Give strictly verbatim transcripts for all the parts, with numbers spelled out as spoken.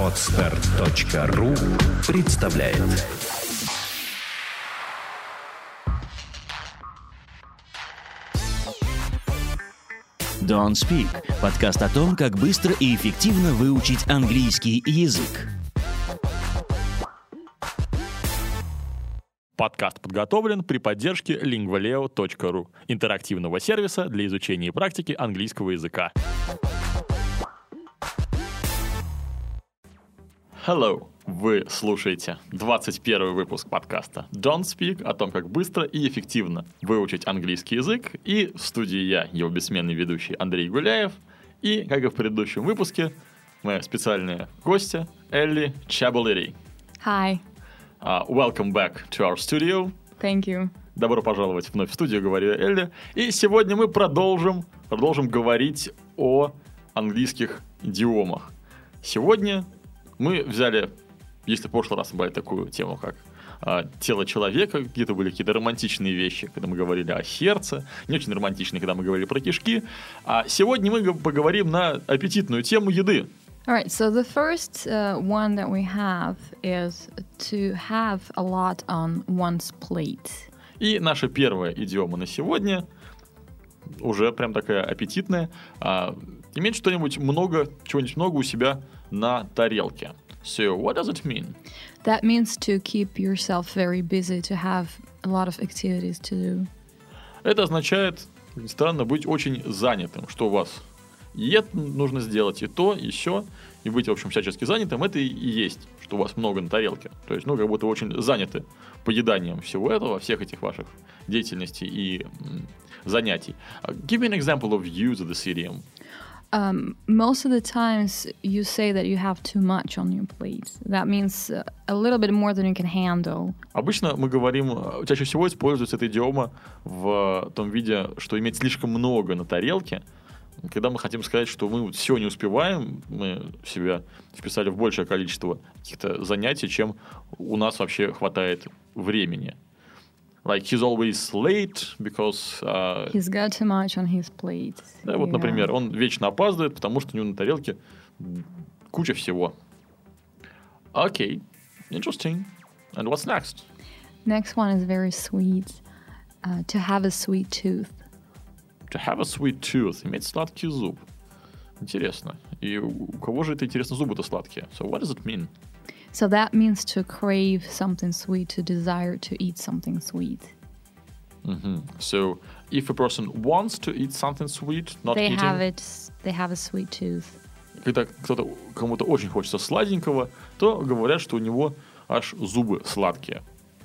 Подстер точка ру представляет. Don't Speak – подкаст о том, как быстро и эффективно выучить английский язык. Подкаст подготовлен при поддержке лингвалео точка ру, интерактивного сервиса для изучения и практики английского языка. Hello! Вы слушаете двадцать первый выпуск подкаста Don't Speak о том, как быстро и эффективно выучить английский язык. И в студии я, его бессменный ведущий Андрей Гуляев. И, как и в предыдущем выпуске, моя специальная гостья Элли Чабалери. Hi. Uh, welcome back to our studio. Thank you. Добро пожаловать вновь в студию, говорю я, Элли. И сегодня мы продолжим, продолжим говорить о английских идиомах. Сегодня мы взяли, если в прошлый раз мы брали такую тему, как а, тело человека, где-то были какие-то романтичные вещи, когда мы говорили о сердце, не очень романтичные, когда мы говорили про кишки. А сегодня мы поговорим на аппетитную тему еды. All right, so the first uh, one that we have is to have a lot on one's plate. И наша первая идиома на сегодня уже прям такая аппетитная. А, иметь что-нибудь много, чего-нибудь много у себя на тарелке. So, what does it mean? That means to keep yourself very busy, to have a lot of activities to do. Это означает, странно, быть очень занятым, что у вас и это нужно сделать, и то, и сё, и быть, в общем, всячески занятым, это и есть, что у вас много на тарелке. То есть, ну, как будто вы очень заняты поеданием всего этого, всех этих ваших деятельностей и м, занятий. Uh, give me an example of use of this idiom. Um, most of the times you say that you have too much on your plate. That means uh, a little bit more than you can handle. Обычно мы говорим, чаще всего используется эта идиома в том виде, что иметь слишком много на тарелке, когда мы хотим сказать, что мы все не успеваем, мы себя вписали в большее количество каких-то занятий, чем у нас вообще хватает времени. Like, he's always late because... Uh, He's got too much on his plate. Да, вот, Yeah. например, он вечно опаздывает, потому что у него на тарелке куча всего. Окей, okay. Interesting. And what's next? Next one is very sweet. Uh, to have a sweet tooth. To have a sweet tooth. Иметь сладкий зуб. Интересно. И у кого же это, интересно, зубы-то сладкие? So what does it mean? So that means to crave something sweet, to desire to eat something sweet. Mm-hmm. So if a person wants to eat something sweet, not they eating... have it. They have a sweet tooth. Когда кто-то, кому-то очень хочется сладенького, то говорят, что у него аж зубы сладкие.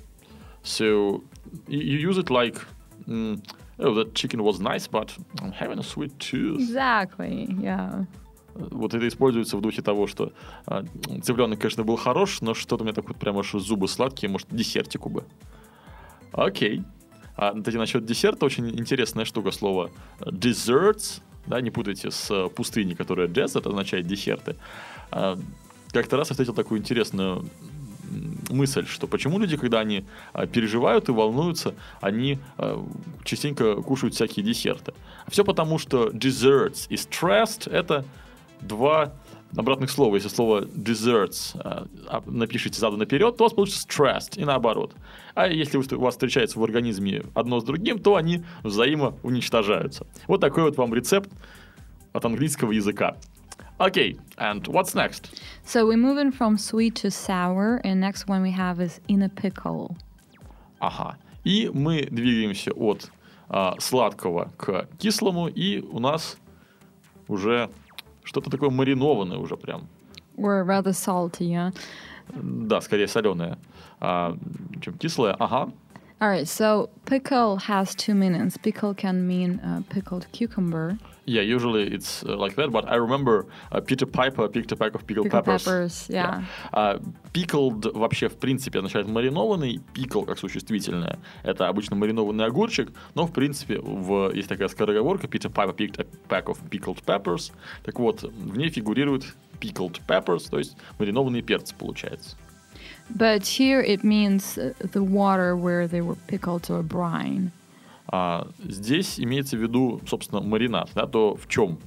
So you use it like... Mm, oh, that chicken was nice, but I'm having a sweet tooth. Exactly, yeah. Вот это используется в духе того, что а, цыпленок, конечно, был хорош, но что-то у меня так вот прямо аж зубы сладкие, может, десертику бы. Окей. А, кстати, насчет десерта очень интересная штука, слово desserts, да, не путайте с пустыней, которая desert, означает десерты. А, как-то раз я встретил такую интересную мысль, что почему люди, когда они а, переживают и волнуются, они а, частенько кушают всякие десерты. Все потому, что desserts и stressed — это два обратных слова. Если слово desserts а, напишите задом наперед, то у вас получится stressed и наоборот. А если у вас встречается в организме одно с другим, то они взаимоуничтожаются. Вот такой вот вам рецепт от английского языка. Okay, and what's next? So we're moving from sweet to sour, and next one we have is in a pickle. Ага. И мы двигаемся от а, сладкого к кислому, и у нас уже что-то такое маринованное уже прям. Or rather salty, yeah? Да, скорее соленое, а, чем кислое. Ага. All right, so pickle has two meanings. Pickle can mean uh, pickled cucumber. Yeah, usually it's uh, like that, but I remember uh, Peter Piper picked a pack of pickled Pickled peppers. peppers, yeah. Yeah. Uh, pickled вообще в принципе означает маринованный, pickle как существительное. Это обычно маринованный огурчик, но в принципе в, есть такая скороговорка Peter Piper picked a pack of pickled peppers. Так вот, в ней фигурирует pickled peppers, то есть маринованные перцы получается. But here it means the water where they were pickled to a brine. А здесь имеется в виду, собственно, маринад, да, то в чем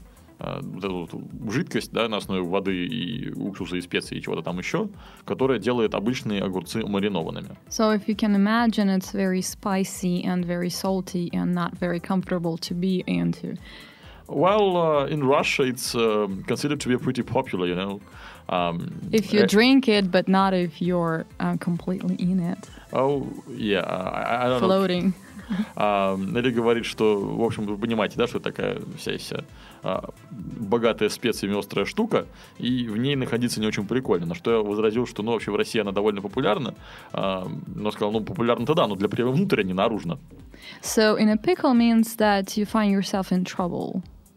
э, вот эту вот жидкость, да, на основе воды и уксуса и специй и чего-то там еще, которая делает обычные огурцы маринованными. So if you can imagine, it's very spicy and very salty and not very comfortable to be into. Well, uh, in Russia, it's uh, considered to be pretty popular, you know. Um, If you uh, drink it, but not if you're uh, completely in it, Oh, yeah, I, I don't know. floating. А, Нелли говорит, что, в общем, вы понимаете, да, что это такая вся вся а, богатая специями острая штука, и в ней находиться не очень прикольно. На что я возразил, что, ну, вообще в России она довольно популярна, а, но сказал, ну, популярна-то да, но для приема внутрь, а не наружно. So in a pickle means that you find yourself in trouble.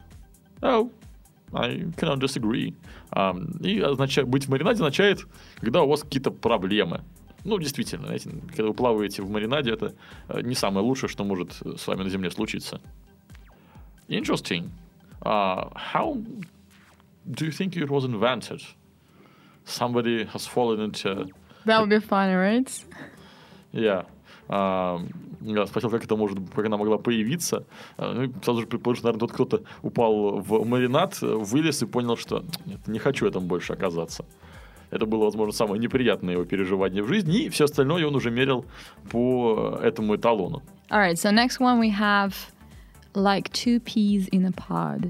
Oh, I cannot disagree. А, и означает, быть в маринаде означает, когда у вас какие-то проблемы. Ну, действительно, знаете, когда вы плаваете в маринаде, это не самое лучшее, что может с вами на земле случиться. Interesting. Uh, how do you think it was invented? Somebody has fallen into... That would be fun, right? Yeah. Uh, я спросил, как это может, как она могла появиться. Uh, ну, и сразу же предположил, что, наверное, тот кто-то упал в маринад, вылез и понял, что нет, не хочу этому больше оказаться. Это было, возможно, самое неприятное его переживание в жизни, и все остальное он уже мерил по этому эталону. All right, so next one we have like two peas in a pod.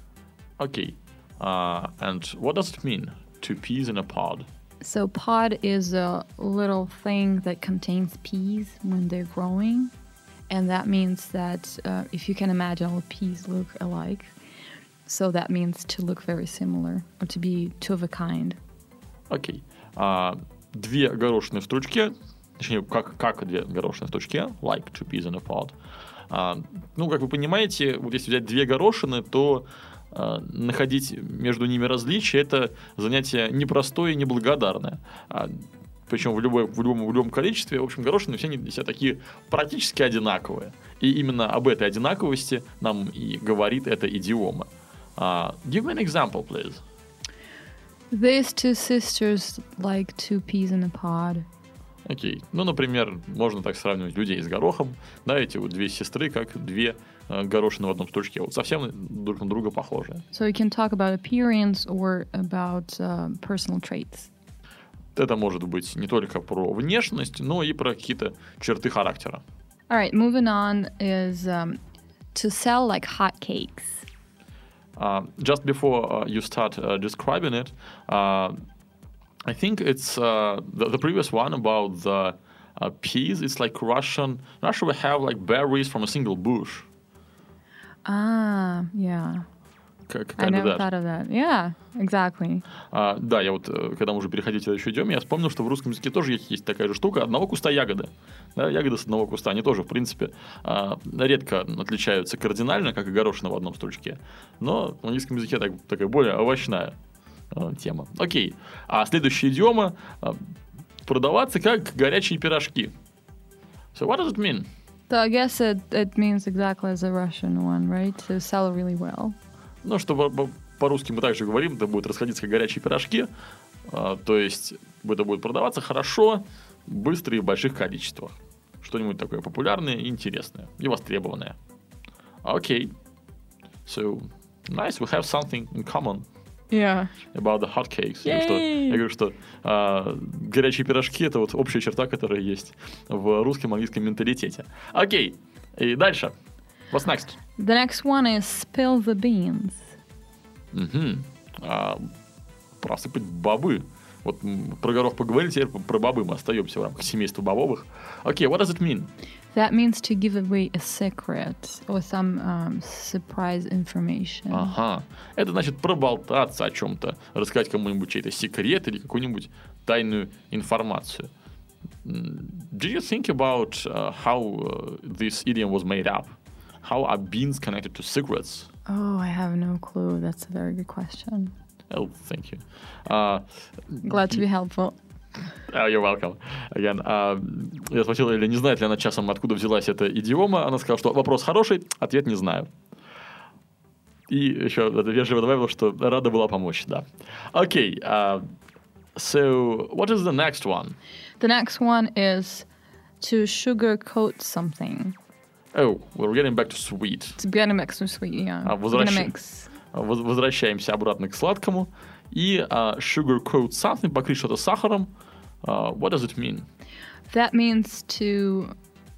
Okay. Uh, and what does it mean? Two peas in a pod? So pod is a little thing that contains peas when they're growing. And that means that uh, if you can imagine all peas look alike, so that means to look very similar or to be two of a kind. Окей. Okay. Uh, две горошины в стручке, точнее, как, как две горошины в стручке, like two peas in a pod. Uh, ну, как вы понимаете, вот если взять две горошины, то uh, находить между ними различия – это занятие непростое и неблагодарное. Uh, причем в, любой, в, любом, в любом количестве. В общем, горошины все, они все такие практически одинаковые. И именно об этой одинаковости нам и говорит эта идиома. Uh, give me an example, please. These two sisters like two peas in a pod. Окей. Okay. Ну, например, можно так сравнивать людей с горохом. Да, эти вот две сестры, как две э, горошины в одном стручке. Вот совсем друг на друга похожие. So you can talk about appearance or about uh, personal traits. Это может быть не только про внешность, но и про какие-то черты характера. All right, moving on is um, to sell like hotcakes. Uh, just before uh, you start uh, describing it, uh, I think it's uh, the, the previous one about the uh, peas. It's like Russian. Russia we have like berries from a single bush. Ah, yeah. Как, I never thought of that. Yeah, exactly. Uh, да, я вот, когда мы уже переходили следующую идем, я вспомнил, что в русском языке тоже есть, есть такая же штука. Одного куста ягоды. Да, ягоды с одного куста. Они тоже, в принципе, uh, редко отличаются кардинально, как и горошина в одном стручке. Но в английском языке так, такая более овощная uh, тема. Окей. А следующая идиома uh, продаваться как горячие пирожки. So what does it mean? So I guess it, it means exactly as the Russian one, right? To sell really well. Ну, что по-русски мы также говорим, это будет расходиться как горячие пирожки, а, то есть это будет продаваться хорошо, быстро и в больших количествах. Что-нибудь такое популярное и интересное, и востребованное. Окей. Okay. So, nice, we have something in common. Yeah. About the hotcakes. Я говорю, что, я говорю, что а, горячие пирожки — это вот общая черта, которая есть в русском английском менталитете. Окей, okay. И дальше. What's next? The next one is spill the beans. Угу. А, просыпать бобы. Вот про горох поговорили, теперь про бобы мы остаемся в рамках семейства бобовых. Окей, okay, what does it mean? That means to give away a secret or some um, surprise information. Ага. Это значит проболтаться о чем-то, рассказать кому-нибудь чей-то секрет или какую-нибудь тайную информацию. Do you think about uh, how uh, this idiom was made up? How are beans connected to secrets? Oh, I have no clue. That's a very good question. Oh, thank you. Uh, Glad to be helpful. Oh, you're welcome. Again. Uh, я спросил, или не знает ли она часом, откуда взялась эта идиома. Она сказала, что вопрос хороший, ответ не знаю. И еще вежливо добавила, что рада была помочь, да. Okay. Uh, so, what is the next one? The next one is to sugarcoat something. Oh, we're getting back to sweet. It's getting back to sweet, yeah. А, возвращ... воз- возвращаемся обратно к сладкому. И uh, sugarcoat something, покрыть что-то сахаром. Uh, what does it mean? That means to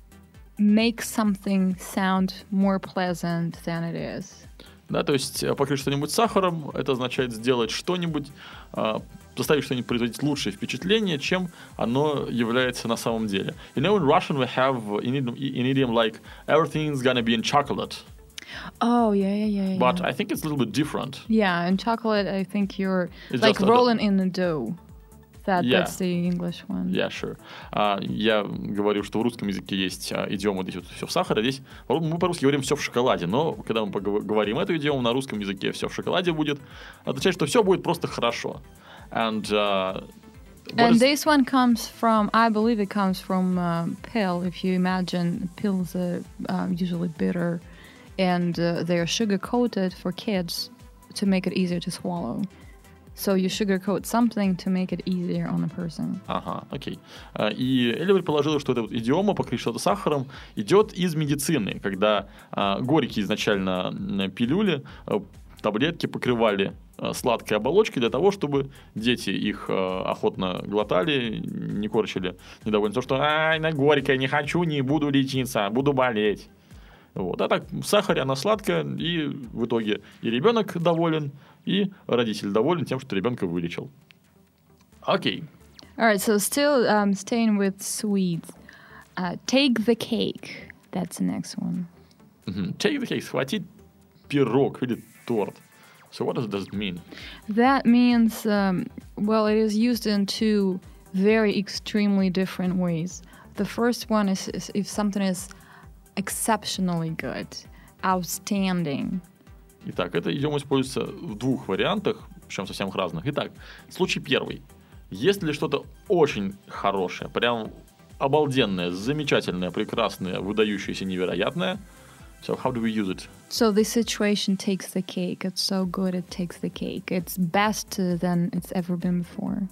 make something sound more pleasant than it is. Да, то есть э, покрыть что-нибудь сахаром, это означает сделать что-нибудь, э, заставить что-нибудь производить лучшее впечатление, чем оно является на самом деле. You know, in Russian we have an idiom, an idiom like everything's gonna be in chocolate. Oh, yeah, yeah, yeah, yeah. But I think it's a little bit different. Yeah, in chocolate, I think you're It's like just a- rolling in the dough. That, Yeah. That's the English one. Yeah, sure. А, я говорю, что в русском языке есть а, идиома, здесь вот все в сахаре, здесь мы по-русски говорим все в шоколаде, но когда мы погов- говорим эту идиому на русском языке все в шоколаде будет, означает, что все будет просто хорошо. And, uh, what And is- this one comes from, I believe it comes from uh, pill. If you imagine, pills are uh, usually bitter, and uh, they're sugar coated for kids to make it easier to swallow. So you sugarcoat something to make it easier on a person. Ага, окей. А, И Эля предположила, что эта вот идиома покрыть что-то сахаром идет из медицины, когда а, горькие изначально м, пилюли, а, таблетки покрывали а, сладкой оболочкой для того, чтобы дети их а, охотно глотали, не корчили недовольно. То, что «Ай, на горькое, не хочу, не буду лечиться, буду болеть». Вот. А так в сахаре она сладкая, и в итоге и ребенок доволен, и родитель доволен тем, что ребенка вылечил. Окей. All right, so still um, staying with sweets. Uh, take the cake. That's the next one. Мгм. Take the cake, схватить пирог или торт. So what does it mean? That means, um, well, it is used in two very extremely different ways. The first one is, is if something is exceptionally good, outstanding. Итак, это идиом используется в двух вариантах, причем совсем разных. Итак, случай первый. Если что-то очень хорошее, прям обалденное, замечательное, прекрасное, выдающееся, невероятное, so how do we use it? So this situation takes the cake. It's so good, it takes the cake. It's best uh, than it's ever been before.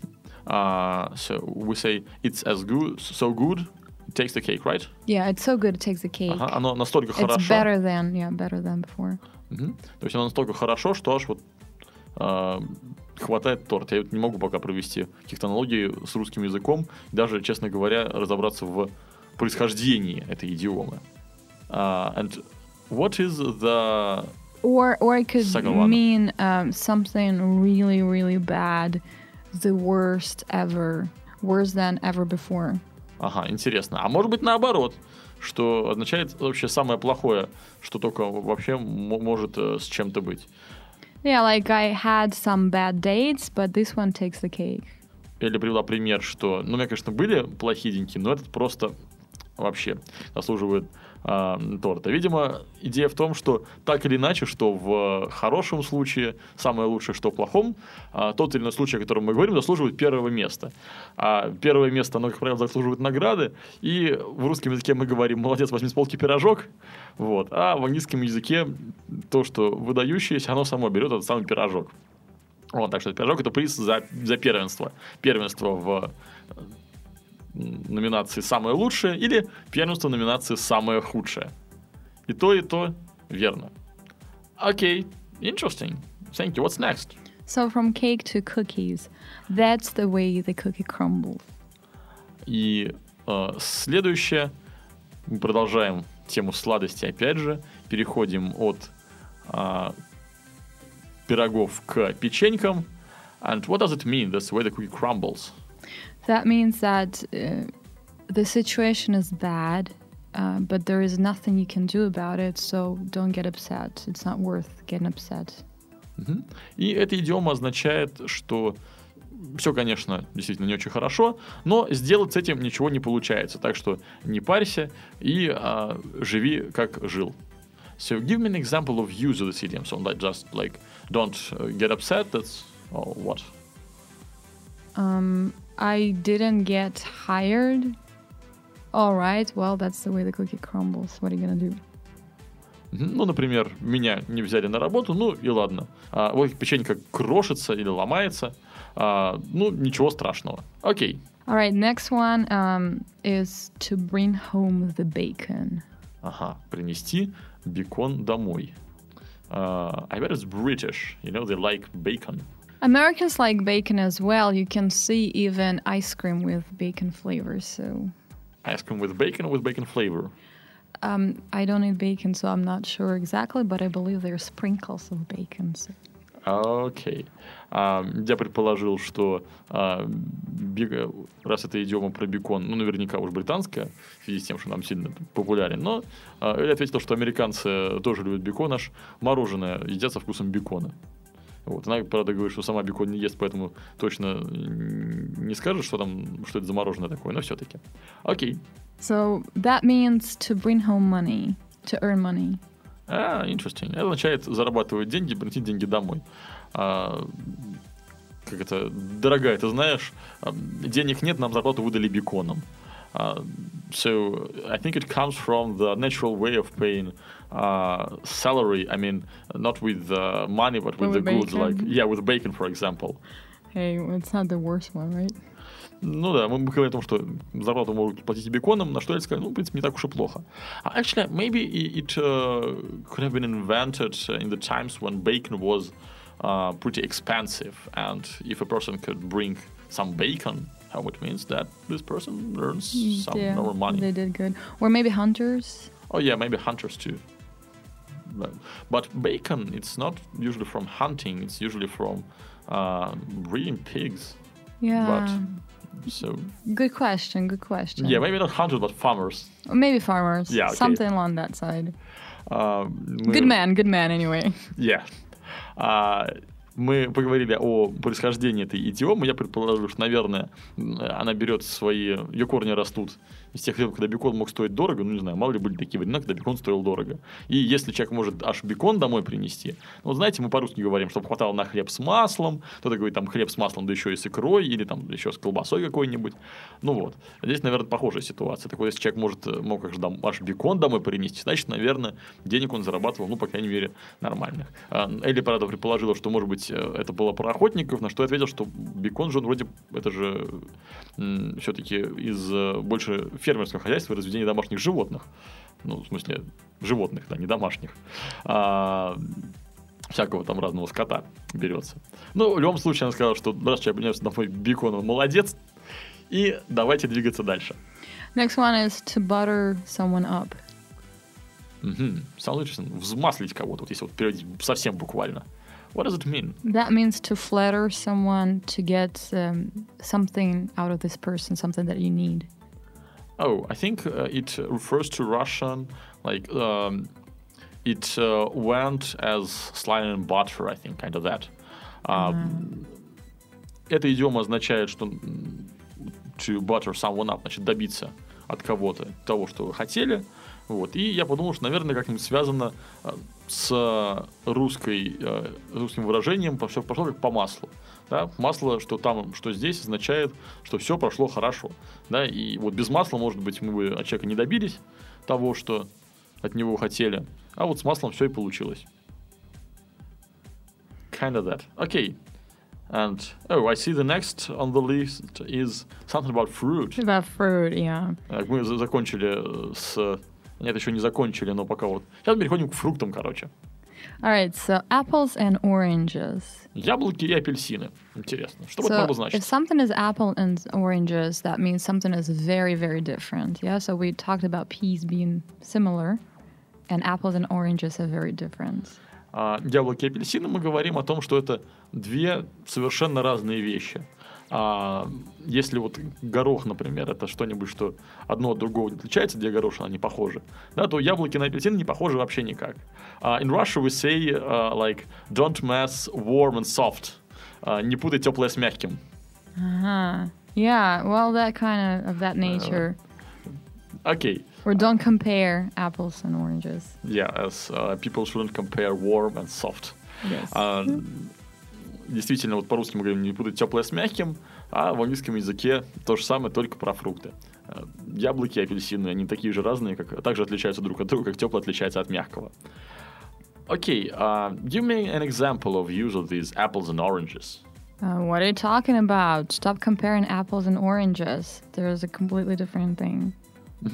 Uh, so we say it's as good, so good, it takes the cake, right? Yeah, it's so good, it takes the cake. Ага, оно настолько It's хорошо. better than, yeah, better than before. Мгм. То есть оно настолько хорошо, что аж вот а, хватает торт. Я вот не могу пока провести каких-то аналогий с русским языком, даже, честно говоря, разобраться в происхождении этой идиомы. А, and what is the... Or, or it could Second one. mean um, something really, really bad, the worst ever, worse than ever before. Ага, интересно. А может быть наоборот, что означает вообще самое плохое, что только вообще м- может э, с чем-то быть. Yeah, like I had some bad dates, but this one takes the cake. Или привела пример, что, ну, у меня, конечно, были плохие деньки, но этот просто вообще заслуживает а, торта. Видимо, идея в том, что так или иначе, что в хорошем случае самое лучшее, что в плохом, а, тот или иной случай, о котором мы говорим, заслуживает первого места. А первое место, оно, как правило, заслуживает награды, и в русском языке мы говорим «молодец, возьми с полки пирожок», вот, а в английском языке то, что выдающееся, оно само берет этот самый пирожок. Вот, так что пирожок — это приз за, за первенство. Первенство в номинации «Самое лучшее» или первенство в номинации «Самое худшее». И то, и то верно. Окей, interesting. Thank you. What's next? So from cake to cookies, that's the way the cookie crumbles. И э, следующее, мы продолжаем тему сладости опять же, переходим от э, пирогов к печенькам. And what does it mean? That's the way the cookie crumbles. That means that uh, the situation is bad, uh, but there is nothing you can do about it, so don't get upset. It's not worth getting upset. Мгм. И эта идиома означает, что все, конечно, действительно не очень хорошо, но сделать с этим ничего не получается. Так что не парься и а, живи, как жил. So give me an example of use of this idiom. So like just like don't uh, get upset. That's oh, what? Um, I didn't get hired. All right, well, that's the way the cookie crumbles. What are you gonna do? Мгм. Ну, например, меня не взяли на работу, ну и ладно. А, вот печенька крошится или ломается. А, ну, ничего страшного. Окей. All right, next one um, is to bring home the bacon. Ага, принести бекон домой. Uh, I bet it's British. You know, they like bacon. Americans like bacon as well. You can see even ice cream with bacon flavor. So Ice cream with bacon or with bacon flavor? um, I don't eat bacon, so I'm not sure exactly, but I believe there are sprinkles of bacon. So. Окей. А, я предположил, что а, би- раз это идиома про бекон, ну, наверняка уж британская, в связи с тем, что нам сильно популярен, но а, Эля ответила, что американцы тоже любят бекон, аж мороженое едят со вкусом бекона. Вот. Она, правда, говорит, что сама бекон не ест, поэтому точно не скажет, что там, что это за мороженое такое, но все-таки. Окей. So that means to bring home money, to earn money. А, interesting. Это означает зарабатывать деньги, приносить деньги домой. А, как это, дорогая, ты знаешь, денег нет, нам зарплату выдали беконом. Uh, so I think it comes from the natural way of paying uh, salary. I mean, not with uh, money, but with, With the goods, bacon. like yeah, with bacon, for example. Hey, it's not the worst one, right? Ну да, мы говорим о том, что зарплату могут платить и беконом, на что я сказал, ну, в принципе, не так уж и плохо. Actually, maybe it uh, could have been invented in the times when bacon was uh, pretty expensive, and if a person could bring some bacon, how it means that this person earns some Yeah, more money. they did good. Or maybe hunters. Oh yeah, maybe hunters too. But, but bacon, it's not usually from hunting, it's usually from uh, breeding pigs. Yeah. But, so Good question, good question. yeah, maybe not hunters, but farmers. Or maybe farmers. Yeah, okay. Something along that side. А, мы- Good man, good man anyway. Yeah. А, мы поговорили о происхождении этой идиомы. Я предположил, что, наверное, она берет свои... Ее корни растут из тех лет, когда бекон мог стоить дорого. Ну, не знаю, мало ли были такие времена, когда бекон стоил дорого. И если человек может аж бекон домой принести... Ну, вот знаете, мы по-русски говорим, чтобы хватало на хлеб с маслом. Кто-то говорит, там, хлеб с маслом, да еще и с икрой. Или там еще с колбасой какой-нибудь. Ну, вот. Здесь, наверное, похожая ситуация. Так вот, если человек может, мог аж, дом, аж бекон домой принести, значит, наверное, денег он зарабатывал, ну, по крайней мере, нормальных. А, Элли, правда, предположила, что, может быть, это было про охотников, на что я ответил, что бекон же он вроде, это же м, все-таки из э, больше фермерского хозяйства и разведения домашних животных. Ну, в смысле, животных, да, не домашних. А, всякого там разного скота берется. Ну, в любом случае, она сказала, что раз человек принес домой бекон, он молодец. И давайте двигаться дальше. Next one is to butter someone up. Угу. Самое интересное, взмаслить кого-то, вот если вот переводить совсем буквально. What does it mean? That means to flatter someone, to get um, something out of this person, something that you need. Oh, I think uh, it refers to Russian, like, um, it uh, went as slime and butter, I think, kind of that. Um, Эта идиома означает, что м, to butter someone up, значит, добиться от кого-то того, что вы хотели. Вот. И я подумал, что, наверное, как-нибудь связано э, с русской, э, русским выражением «пошло, пошло как по маслу». Да? Масло, что там, что здесь, означает, что все прошло хорошо. Да? И вот без масла, может быть, мы бы от человека не добились того, что от него хотели. А вот с маслом все и получилось. Kind of that. Okay. And, oh, I see the next on the list is something about fruit. About fruit, yeah. Так, мы за- закончили с... Нет, еще не закончили, но пока вот... Сейчас переходим к фруктам, короче. All right, so apples and oranges. Яблоки и апельсины. Интересно. Что бы это So могло if значить? something is apple and oranges, that means something is very, very different. Yeah, so we talked about peas being similar, and apples and oranges are very different. А, яблоки и апельсины, мы говорим о том, что это две совершенно разные вещи. А, если вот горох, например, это что-нибудь, что одно от другого не отличается, две горошины, они похожи, да, то яблоки на апельсины не похожи вообще никак. А, in Russia we say, uh, like, don't mess warm and soft. А, не путай теплое с мягким. Uh-huh. Yeah, well, that kind of of that nature. Окей. Or don't compare apples and oranges. Yeah, as uh, people shouldn't compare warm and soft. Yes. А, действительно, вот по-русски мы говорим не путать теплое с мягким, а в английском языке то же самое, только про фрукты. А, яблоки и апельсины, они такие же разные, как, также отличаются друг от друга, как теплое отличается от мягкого. Окей, okay, uh, give me an example of use of these apples and oranges. Uh, what are you talking about? Stop comparing apples and oranges. There's a completely different thing. Мгм.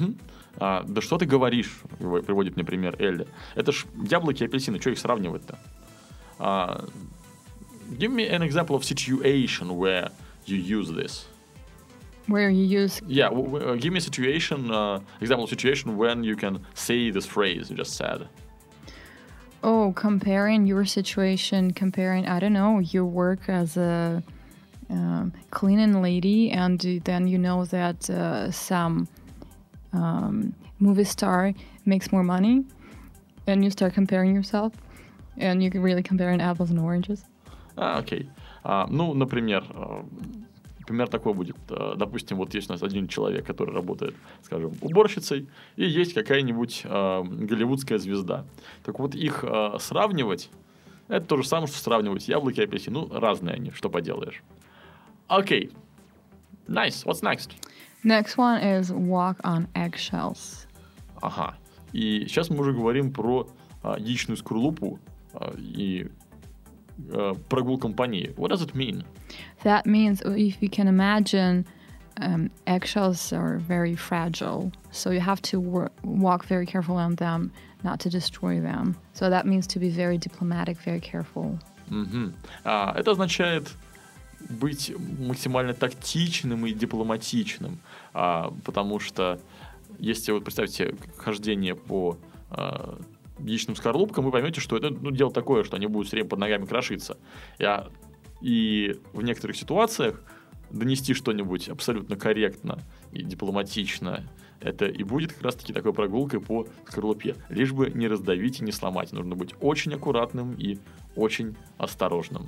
А, да что ты говоришь, приводит мне пример Элли. Это ж яблоки и апельсины, что их сравнивать-то? А, give me an example of situation where you use this. Where you use... Yeah, w- w- give me a situation, uh, example of situation when you can say this phrase you just said. Oh, comparing your situation, comparing, I don't know, your work as a um, cleaning lady, and then you know that uh, some um, movie star makes more money, and you start comparing yourself, and you're really comparing apples and oranges. А, окей. А, ну, например, э, пример такой будет. Э, допустим, вот есть у нас один человек, который работает, скажем, уборщицей, и есть какая-нибудь э, голливудская звезда. Так вот, их э, сравнивать, это то же самое, что сравнивать яблоки и апельсины. Ну, разные они, что поделаешь. Окей. Nice. What's next? Next one is walk on eggshells. Ага. И сейчас мы уже говорим про э, яичную скорлупу э, и э, прогулкам по ней. What does it mean? That means, if you can imagine, um, eggshells are very fragile, so you have to wor- walk very carefully on them, not to destroy them. So that means to be very diplomatic, very careful. Мгм. А, это означает быть максимально тактичным и дипломатичным, а, потому что если вот представьте хождение по а, яичным скорлупкам, вы поймете, что это ну, дело такое, что они будут все время под ногами крошиться. Я, и в некоторых ситуациях донести что-нибудь абсолютно корректно и дипломатично, это и будет как раз-таки такой прогулкой по скорлупе. Лишь бы не раздавить и не сломать. Нужно быть очень аккуратным и очень осторожным.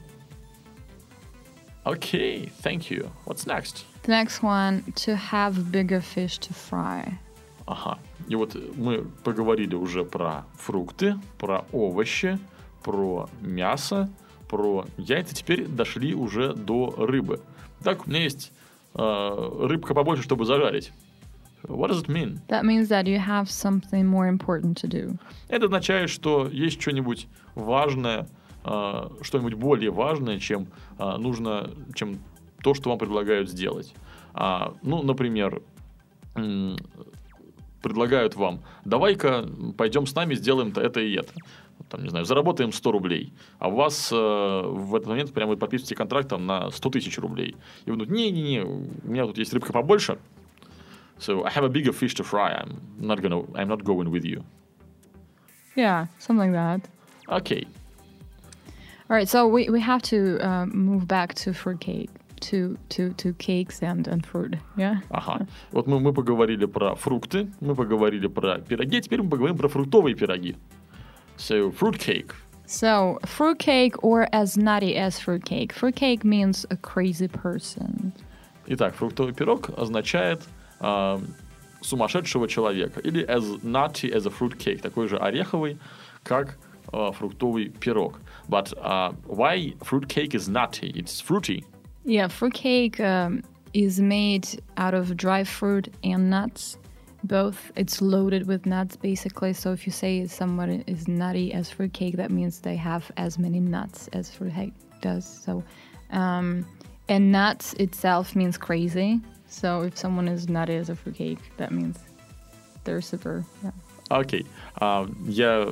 Okay, thank you. What's next? The next one, to have bigger fish to fry. Ага. И вот мы поговорили уже про фрукты, про овощи, про мясо, про яйца. Теперь дошли уже до рыбы. Так, у меня есть э, рыбка побольше, чтобы зажарить. What does it mean? That means that you have something more important to do. Это означает, что есть что-нибудь важное, э, что-нибудь более важное, чем э, нужно, чем то, что вам предлагают сделать. А, ну, например, м- предлагают вам: давай-ка пойдем с нами, сделаем-то это и это. Там, не знаю, заработаем сто рублей, а у вас э, в этот момент прямо вы подписываете контракт там, на сто тысяч рублей. И вы думаете: не-не-не, у меня тут есть рыбка побольше, so I have a bigger fish to fry, I'm not, gonna, I'm not going with you. Yeah, something like that. Окей. All right, so we, we have to uh, move back to fruitcake, to to to cakes and, and fruit, yeah? Ага. Вот мы, мы поговорили про фрукты, мы поговорили про пироги, а теперь мы поговорим про фруктовые пироги. So, fruitcake. So, fruitcake, or as nutty as fruitcake. Fruitcake means a crazy person. Итак, фруктовый пирог означает э, сумасшедшего человека. Или as nutty as a fruitcake, такой же ореховый, как э, фруктовый пирог. But uh, why fruitcake is nutty? It's fruity. Yeah, fruitcake um, is made out of dry fruit and nuts. Both. It's loaded with nuts, basically. So if you say someone is nutty as fruitcake, that means they have as many nuts as fruitcake does. So, um, and nuts itself means crazy. So if someone is nutty as a fruitcake, that means they're super. Yeah. Окей. А, я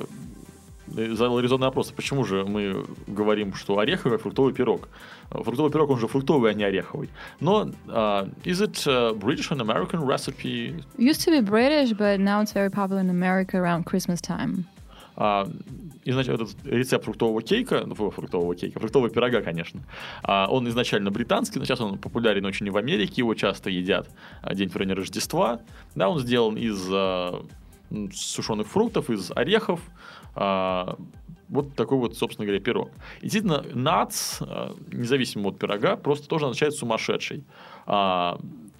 задал резонный вопрос. Почему же мы говорим, что ореховый, а фруктовый пирог? Фруктовый пирог, он же фруктовый, а не ореховый. Но uh, is it a British and American recipe? It used to be British, but now it's very popular in America around Christmas time. Uh, изначально этот рецепт фруктового кейка, ну, фруктового кейка, фруктового пирога, конечно, uh, он изначально британский, но сейчас он популярен очень и в Америке, его часто едят uh, день в районе Рождества. Да, он сделан из uh, сушеных фруктов, из орехов. Uh, вот такой вот, собственно говоря, пирог. И действительно, nuts, uh, независимо от пирога, просто тоже означает сумасшедший. Uh,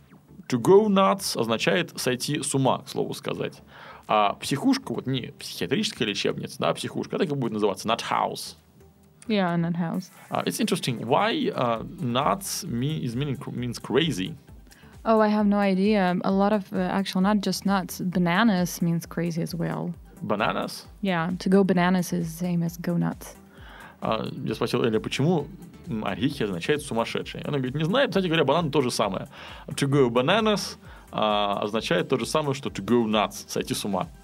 to go nuts означает сойти с ума, к слову сказать. А психушка, вот не психиатрическая лечебница, да, психушка, так и будет называться, nut house. Yeah, nut house. Uh, it's interesting. Why uh, nuts mean, is meaning, means crazy? Oh, I have no idea. A lot of, uh, actually, not just nuts, bananas means crazy as well. Bananas? Yeah, to go bananas is the same as go nuts. Uh, я спросил Эля, почему орехи означает сумасшедший. Она говорит, не знаю, кстати говоря, бананы то же самое. To go bananas uh, означает то же самое, что to go nuts, сойти с ума.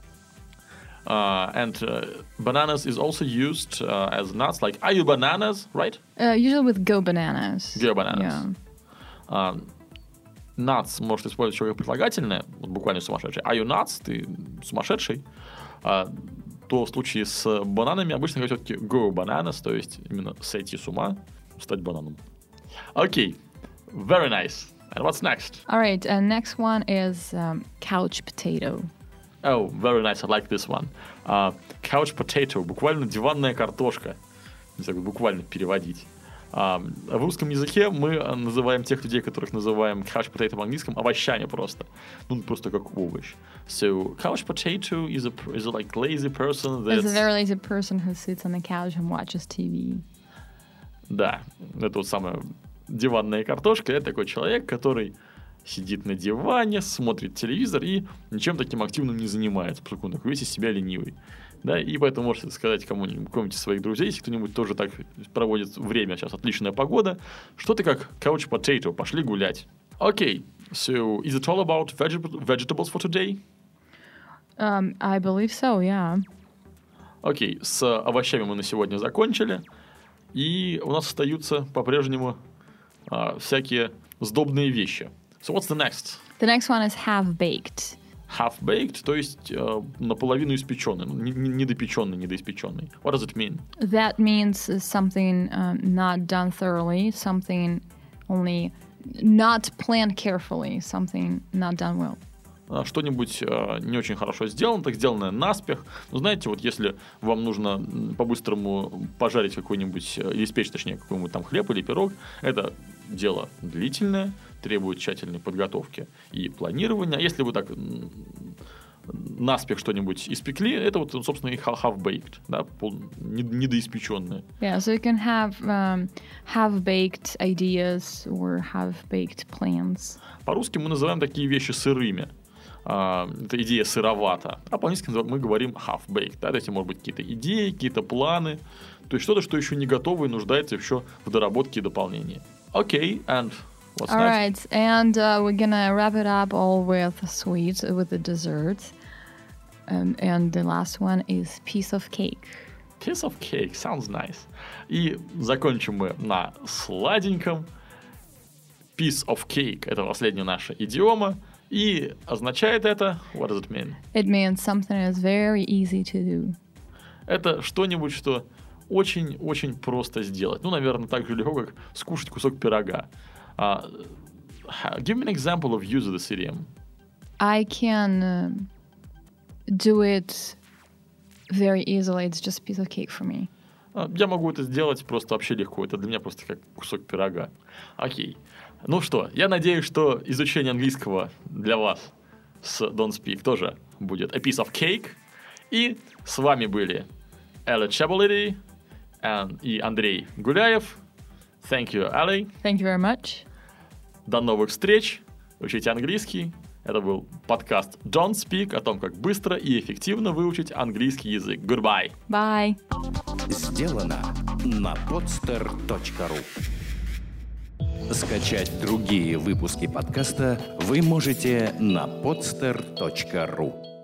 Uh, and uh, bananas is also used uh, as nuts, like, are you bananas, right? Uh, usually with go bananas. Go bananas. Yeah. Uh, nuts может использовать еще как прилагательное, вот буквально сумасшедший. Are you nuts? Ты сумасшедший. Uh, то в случае с бананами обычно говорят все-таки go bananas, то есть именно сойти с ума, стать бананом. Okay, very nice. And what's next? All right, uh, next one is um, couch potato. Oh, very nice, I like this one. Uh, couch potato, буквально диванная картошка. Не знаю, как буквально переводить. Uh, в русском языке мы называем тех людей, которых называем couch potato в английском, овощами просто. Ну, просто как овощ. So, couch potato is a, is a like lazy person that's... It's a very lazy person who sits on the couch and watches T V. Да, это вот самая диванная картошка. Это такой человек, который сидит на диване, смотрит телевизор и ничем таким активным не занимается, поскольку он такой весь из себя ленивый. Да, и поэтому можете сказать кому-нибудь, кому-нибудь из своих друзей, если кто-нибудь тоже так проводит время, сейчас отличная погода, что ты как couch potato, пошли гулять. Окей, okay, so is it all about veget- vegetables for today? Um, I believe so, yeah. Окей, okay, с овощами мы на сегодня закончили, и у нас остаются по-прежнему а, всякие сдобные вещи. So what's the next? The next one is half-baked. Half-baked, то есть э, наполовину испеченный, не, не, недопеченный, недоиспеченный. What does it mean? That means something um, not done thoroughly, something only not planned carefully, something not done well. Что-нибудь э, не очень хорошо сделано, так сделанное наспех. Ну, знаете, вот если вам нужно по-быстрому пожарить какой-нибудь, или испечь, точнее, какой-нибудь там хлеб или пирог, это дело длительное, требует тщательной подготовки и планирования. А если вы так наспех что-нибудь испекли, это вот, собственно, и half-baked, да, пол, недоиспеченное. Yeah, so you can have um, half-baked ideas or half-baked plans. По-русски мы называем такие вещи сырыми. Uh, это идея сыровата. А по-английски мы говорим half-baked. Да? Это может быть какие-то идеи, какие-то планы. То есть что-то, что еще не готово и нуждается еще в доработке и дополнении. Окей, okay, and what's all next? Right, and uh, we're gonna wrap it up all with sweets, with the dessert. Um, and the last one is piece of cake. Piece of cake, sounds nice. И закончим мы на сладеньком. Piece of cake – это последняя наша идиома. И означает это, what does it mean? It means something that's very easy to do. Это что-нибудь, что очень-очень просто сделать. Ну, наверное, так же легко, как скушать кусок пирога. Uh, give me an example of use of this idiom. I can uh, do it very easily. It's just a piece of cake for me. Uh, я могу это сделать просто вообще легко. Это для меня просто как кусок пирога. Окей. Ну что, я надеюсь, что изучение английского для вас с Don't Speak тоже будет a piece of cake. И с вами были Элли Чабалиди и Андрей Гуляев. Thank you, Ellie. Thank you very much. До новых встреч. Учите английский. Это был подкаст Don't Speak о том, как быстро и эффективно выучить английский язык. Goodbye. Bye. Сделано на podster точка ру. Скачать другие выпуски подкаста вы можете на podster точка ру.